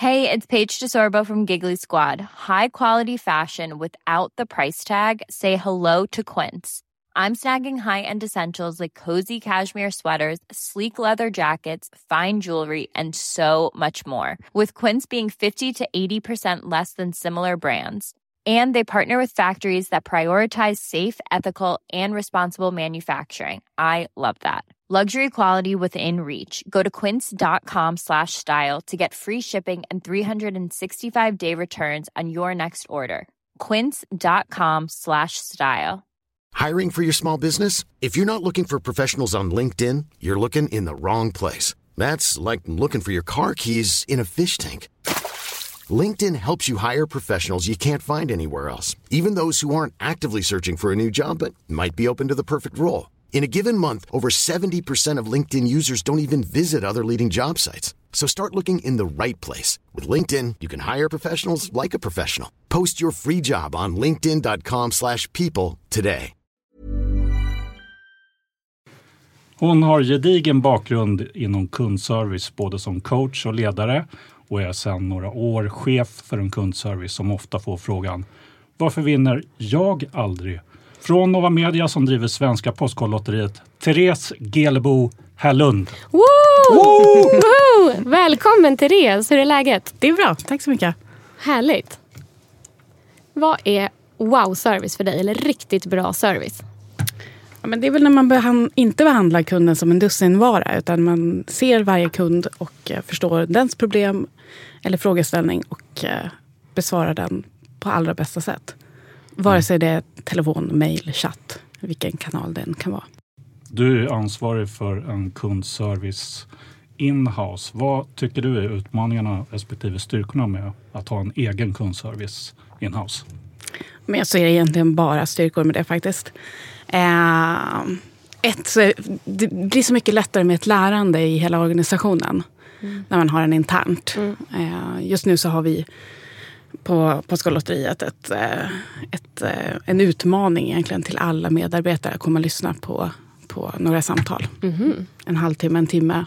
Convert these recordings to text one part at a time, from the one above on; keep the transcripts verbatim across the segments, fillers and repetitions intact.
Hey, it's Paige DeSorbo from Giggly Squad. High quality fashion without the price tag. Say hello to Quince. I'm snagging high-end essentials like cozy cashmere sweaters, sleek leather jackets, fine jewelry, and so much more. With Quince being fifty to eighty percent less than similar brands. And they partner with factories that prioritize safe, ethical, and responsible manufacturing. I love that. Luxury quality within reach. Go to quince.com slash style to get free shipping and three sixty-five day returns on your next order. Quince.com slash style. Hiring for your small business? If you're not looking for professionals on LinkedIn, you're looking in the wrong place. That's like looking for your car keys in a fish tank. LinkedIn helps you hire professionals you can't find anywhere else, even those who aren't actively searching for a new job but might be open to the perfect role. In a given month, over seventy percent of LinkedIn users don't even visit other leading job sites. So start looking in the right place. With LinkedIn, you can hire professionals like a professional. Post your free job on linkedin.com slash people today. Hon har gedigen bakgrund inom kundservice både som coach och ledare och är sedan några år chef för en kundservice som ofta får frågan: varför vinner jag aldrig? Från Nova Media som driver Svenska Postkodlotteriet, Therese Gelebo Härlund. Woo! Woo! Woo! Välkommen Therese, hur är läget? Det är bra, tack så mycket. Härligt. Vad är wow-service för dig, eller riktigt bra service? Ja, men det är väl när man behand- inte behandlar kunden som en dussinvara, utan man ser varje kund och eh, förstår dens problem eller frågeställning och eh, besvarar den på allra bästa sätt. Vare sig det är telefon, mail, chatt, vilken kanal den kan vara. Du är ansvarig för en kundservice in-house. Vad tycker du är utmaningarna respektive styrkorna med att ha en egen kundservice in-house? Men jag ser egentligen bara styrkor med det faktiskt. Eh, ett, så det blir så mycket lättare med ett lärande i hela organisationen mm. när man har en internt. Mm. Eh, just nu så har vi på Postkodlotteriet ett, ett, en utmaning egentligen till alla medarbetare att komma och lyssna på, på några samtal. Mm. En halvtimme, en timme.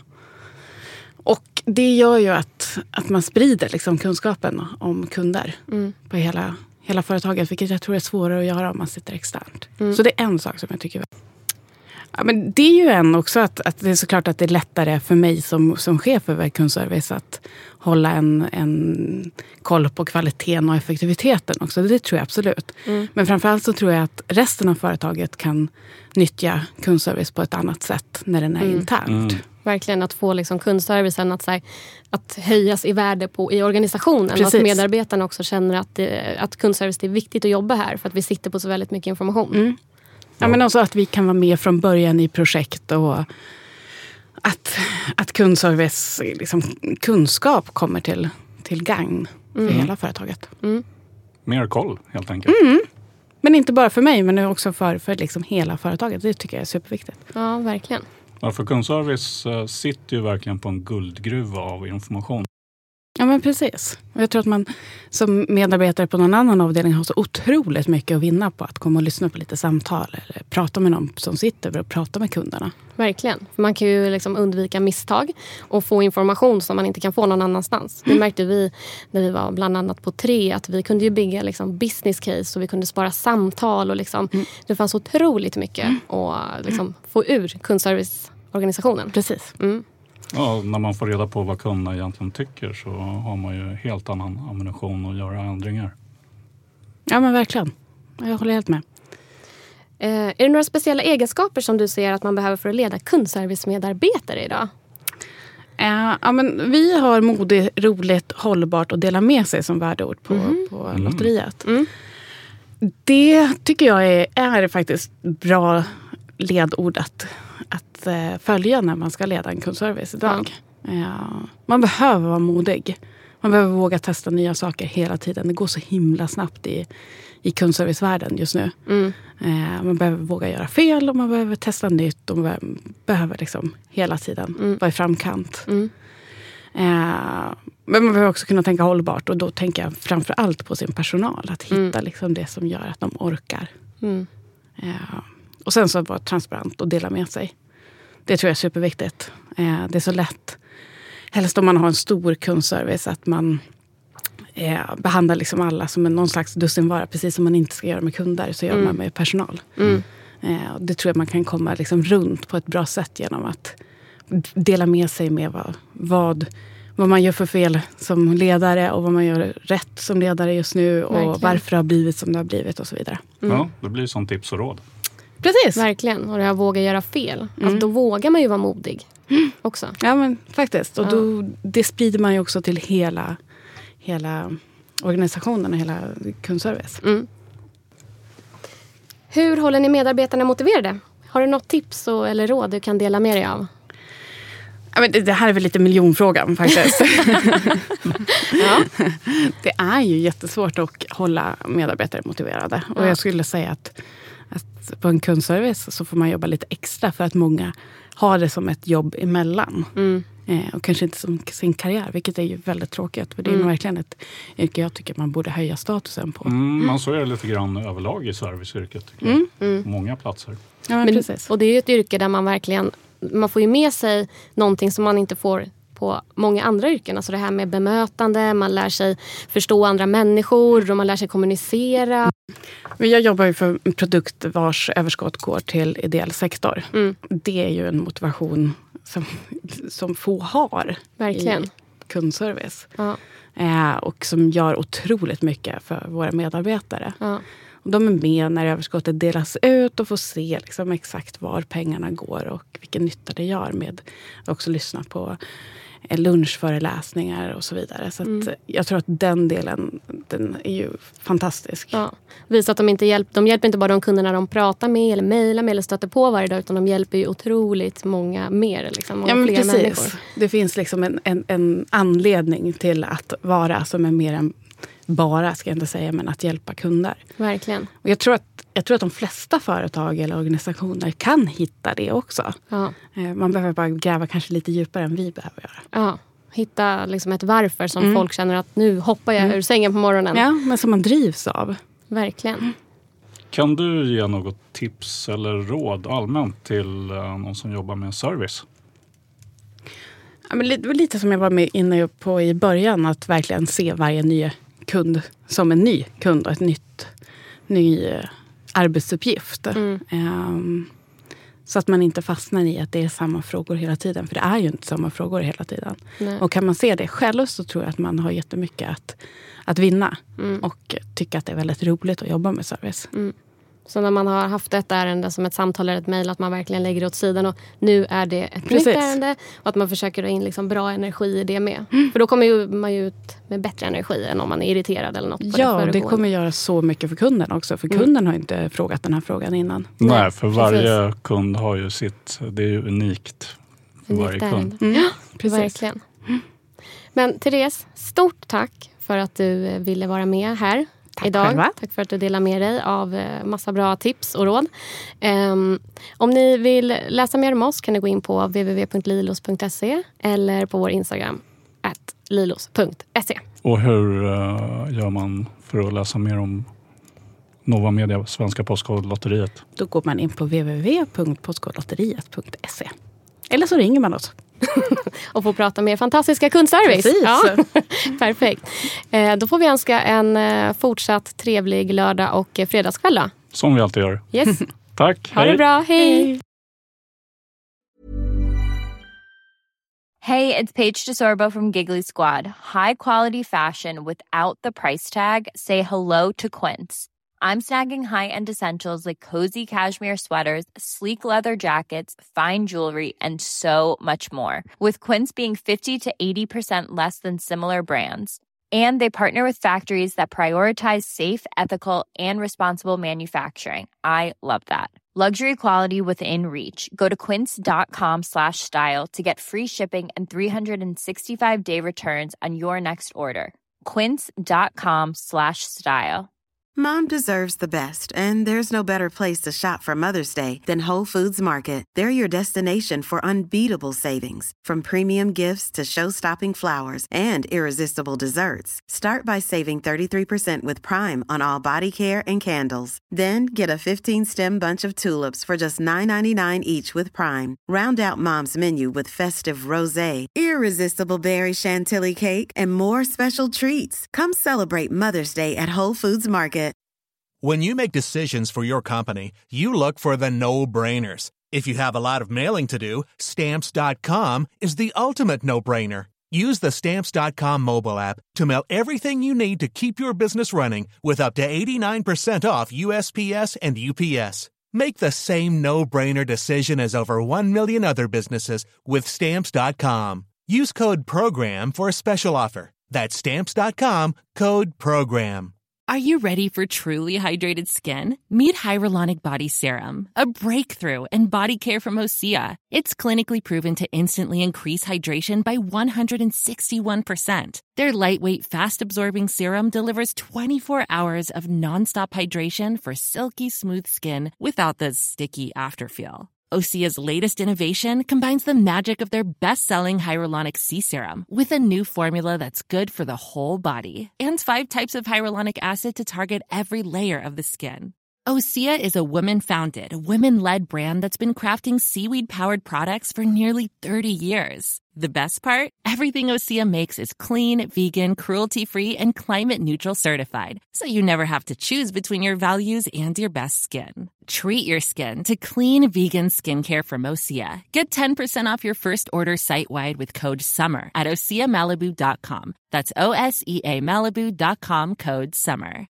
Och det gör ju att, att man sprider liksom kunskapen om kunder mm. på hela, hela företaget, vilket jag tror är svårare att göra om man sitter externt. Mm. Så det är en sak som jag tycker. Ja, men det är ju en också att, att det är såklart att det är lättare för mig som, som chef över kundservice att hålla en, en koll på kvaliteten och effektiviteten också. Det tror jag absolut. Mm. Men framförallt så tror jag att resten av företaget kan nyttja kundservice på ett annat sätt när den är mm. internt. Mm. Verkligen att få liksom kundservicen att, så här, att höjas i värde på, i organisationen. Precis. Och att medarbetarna också känner att, det, att kundservice är viktigt att jobba här för att vi sitter på så väldigt mycket information. Mm. Ja, men också att vi kan vara med från början i projekt och att, att kundservice, liksom, kunskap kommer till, till gagn för mm. hela företaget. Mm. Mer koll helt enkelt. Mm. Men inte bara för mig, men också för, för liksom hela företaget. Det tycker jag är superviktigt. Ja, verkligen. Ja, för kundservice uh, sitter ju verkligen på en guldgruva av information. Ja, men precis. Och jag tror att man som medarbetare på någon annan avdelning har så otroligt mycket att vinna på att komma och lyssna på lite samtal eller prata med någon som sitter och prata med kunderna. Verkligen. Man kan ju liksom undvika misstag och få information som man inte kan få någon annanstans. Mm. Det märkte vi när vi var bland annat på tre, att vi kunde ju bygga liksom business case och vi kunde spara samtal och liksom, mm. det fanns otroligt mycket mm. att liksom få ur kundserviceorganisationen. Precis. Mm. Ja, när man får reda på vad kunderna egentligen tycker så har man ju helt annan ammunition att göra ändringar. Ja, men verkligen. Jag håller helt med. Eh, är det några speciella egenskaper som du ser att man behöver för att leda kundservice-medarbetare idag? Eh, ja, men vi har modigt, roligt, hållbart och dela med sig som värdeord på, mm. på mm. lotteriet. Mm. Det tycker jag är, är faktiskt bra ledord att, att eh, följa när man ska leda en kundservice idag. Ja. Eh, man behöver vara modig. Man behöver våga testa nya saker hela tiden. Det går så himla snabbt i, i kundservicevärlden just nu. Mm. Eh, man behöver våga göra fel och man behöver testa nytt. Och man behöver, behöver liksom hela tiden mm. vara i framkant. Mm. Eh, men man behöver också kunna tänka hållbart. Och då tänker jag framför allt på sin personal. Att hitta mm. liksom det som gör att de orkar. Mm. Eh, och sen så vara transparent och dela med sig. Det tror jag är superviktigt. Eh, det är så lätt helst om man har en stor kundservice att man eh, behandlar liksom alla som en, någon slags dussinvara. Precis som man inte ska göra med kunder så gör mm. man med personal. Mm. Eh, och det tror jag man kan komma liksom runt på ett bra sätt genom att dela med sig med vad, vad, vad man gör för fel som ledare och vad man gör rätt som ledare just nu och Verkligen. Varför det har blivit som det har blivit och så vidare. Mm. Ja, det blir som tips och råd. Precis. Verkligen, och det här våga göra fel. Mm. Alltså, då vågar man ju vara modig mm. också. Ja, men faktiskt. Och då, ja. det sprider man ju också till hela, hela organisationen och hela kundservice. Mm. Hur håller ni medarbetarna motiverade? Har du något tips och, eller råd du kan dela med dig av? Ja, men det, det här är väl lite miljonfrågan faktiskt. ja. Det är ju jättesvårt att hålla medarbetare motiverade. Ja. Och jag skulle säga att, att på en kundservice så får man jobba lite extra för att många har det som ett jobb emellan. Mm. Eh, och kanske inte som sin karriär, vilket är ju väldigt tråkigt. För det är mm. verkligen ett yrke jag tycker man borde höja statusen på. Mm, man så är det lite grann överlag i serviceyrket. Mm. Mm. Många platser. Ja, men, men, precis. Och det är ju ett yrke där man verkligen, man får ju med sig någonting som man inte får på många andra yrken. Alltså det här med bemötande, man lär sig förstå andra människor och man lär sig kommunicera. Men jag jobbar ju för en produkt vars överskott går till ideell sektor. Mm. Det är ju en motivation som, som få har Verkligen. I kundservice. Ja. Eh, och som gör otroligt mycket för våra medarbetare. Ja. Och de är med när överskottet delas ut och får se liksom exakt var pengarna går och vilken nytta det gör med att också lyssna på lunchföreläsningar och så vidare. Så att mm. jag tror att den delen, den är ju fantastisk. Ja. Visa att de inte hjälper, de hjälper inte bara de kunderna de pratar med eller mejlar med eller stöter på varje dag, utan de hjälper ju otroligt många mer. Liksom, många ja, men fler precis. Människor. Det finns liksom en, en, en anledning till att vara som är mer än bara, ska jag inte säga, men att hjälpa kunder. Verkligen. Och jag tror att, jag tror att de flesta företag eller organisationer kan hitta det också. Ja. Man behöver bara gräva kanske lite djupare än vi behöver göra. Ja, hitta liksom ett varför som mm. folk känner att nu hoppar jag mm. ur sängen på morgonen. Ja, men som man drivs av. Verkligen. Mm. Kan du ge något tips eller råd allmänt till någon som jobbar med service? Ja, men lite, lite som jag var med inne på i början, att verkligen se varje ny kund som en ny kund och ett nytt ny arbetsuppgift. Mm. Um, så att man inte fastnar i att det är samma frågor hela tiden. För det är ju inte samma frågor hela tiden. Nej. Och kan man se det själv så tror jag att man har jättemycket att, att vinna. Mm. Och tycka att det är väldigt roligt att jobba med service. Mm. Så när man har haft ett ärende som ett samtal eller ett mejl, att man verkligen lägger det åt sidan och nu är det ett Precis. Nytt ärende och att man försöker ha in liksom bra energi i det med. Mm. För då kommer ju man ju ut med bättre energi än om man är irriterad eller något på ja, det det kommer göra så mycket för kunden också. För kunden mm. har inte frågat den här frågan innan. Nej, för varje Precis. Kund har ju sitt, det är ju unikt för unikt varje kund. Mm. Ja, Precis. Verkligen. Men Therese, stort tack för att du ville vara med här. Tack idag. Själva. Tack för att du delar med dig av massa bra tips och råd. Um, om ni vill läsa mer om oss kan ni gå in på w w w punkt lilos punkt se eller på vår Instagram at lilos punkt se. Och hur uh, gör man för att läsa mer om Nova Media, Svenska Postkodlotteriet? Då går man in på w w w punkt postkodlotteriet punkt se. Eller så ringer man oss. Och får prata med fantastiska kundservice. Precis. Ja. Perfekt. Eh, då får vi önska en eh, fortsatt trevlig lördag och eh, fredagskväll då. Som vi alltid gör. Yes. Tack. Ha hej. det bra. Hej. Hey, it's Paige DeSorbo from Giggly Squad. High quality fashion without the price tag. Say hello to Quince. I'm snagging high-end essentials like cozy cashmere sweaters, sleek leather jackets, fine jewelry, and so much more. With Quince being fifty to eighty percent less than similar brands. And they partner with factories that prioritize safe, ethical, and responsible manufacturing. I love that. Luxury quality within reach. Go to quince.com slash style to get free shipping and three sixty-five day returns on your next order. Quince.com slash style. Mom deserves the best, and there's no better place to shop for Mother's Day than Whole Foods Market. They're your destination for unbeatable savings, from premium gifts to show-stopping flowers and irresistible desserts. Start by saving thirty-three percent with Prime on all body care and candles. Then get a fifteen-stem bunch of tulips for just nine ninety-nine each with Prime. Round out Mom's menu with festive rosé, irresistible berry chantilly cake, and more special treats. Come celebrate Mother's Day at Whole Foods Market. When you make decisions for your company, you look for the no-brainers. If you have a lot of mailing to do, Stamps dot com is the ultimate no-brainer. Use the Stamps dot com mobile app to mail everything you need to keep your business running with up to eighty-nine percent off U S P S and U P S. Make the same no-brainer decision as over one million other businesses with Stamps dot com. Use code PROGRAM for a special offer. That's Stamps dot com, code PROGRAM. Are you ready for truly hydrated skin? Meet Hyaluronic Body Serum, a breakthrough in body care from Osea. It's clinically proven to instantly increase hydration by one hundred sixty-one percent. Their lightweight, fast-absorbing serum delivers twenty-four hours of nonstop hydration for silky smooth skin without the sticky afterfeel. Osea's latest innovation combines the magic of their best-selling Hyaluronic Sea Serum with a new formula that's good for the whole body and five types of hyaluronic acid to target every layer of the skin. Osea is a women-founded, women-led brand that's been crafting seaweed-powered products for nearly thirty years. The best part? Everything Osea makes is clean, vegan, cruelty-free, and climate-neutral certified, so you never have to choose between your values and your best skin. Treat your skin to clean, vegan skincare from Osea. Get ten percent off your first order site-wide with code SUMMER at osea malibu dot com. That's O S E A Malibu dot com, code SUMMER.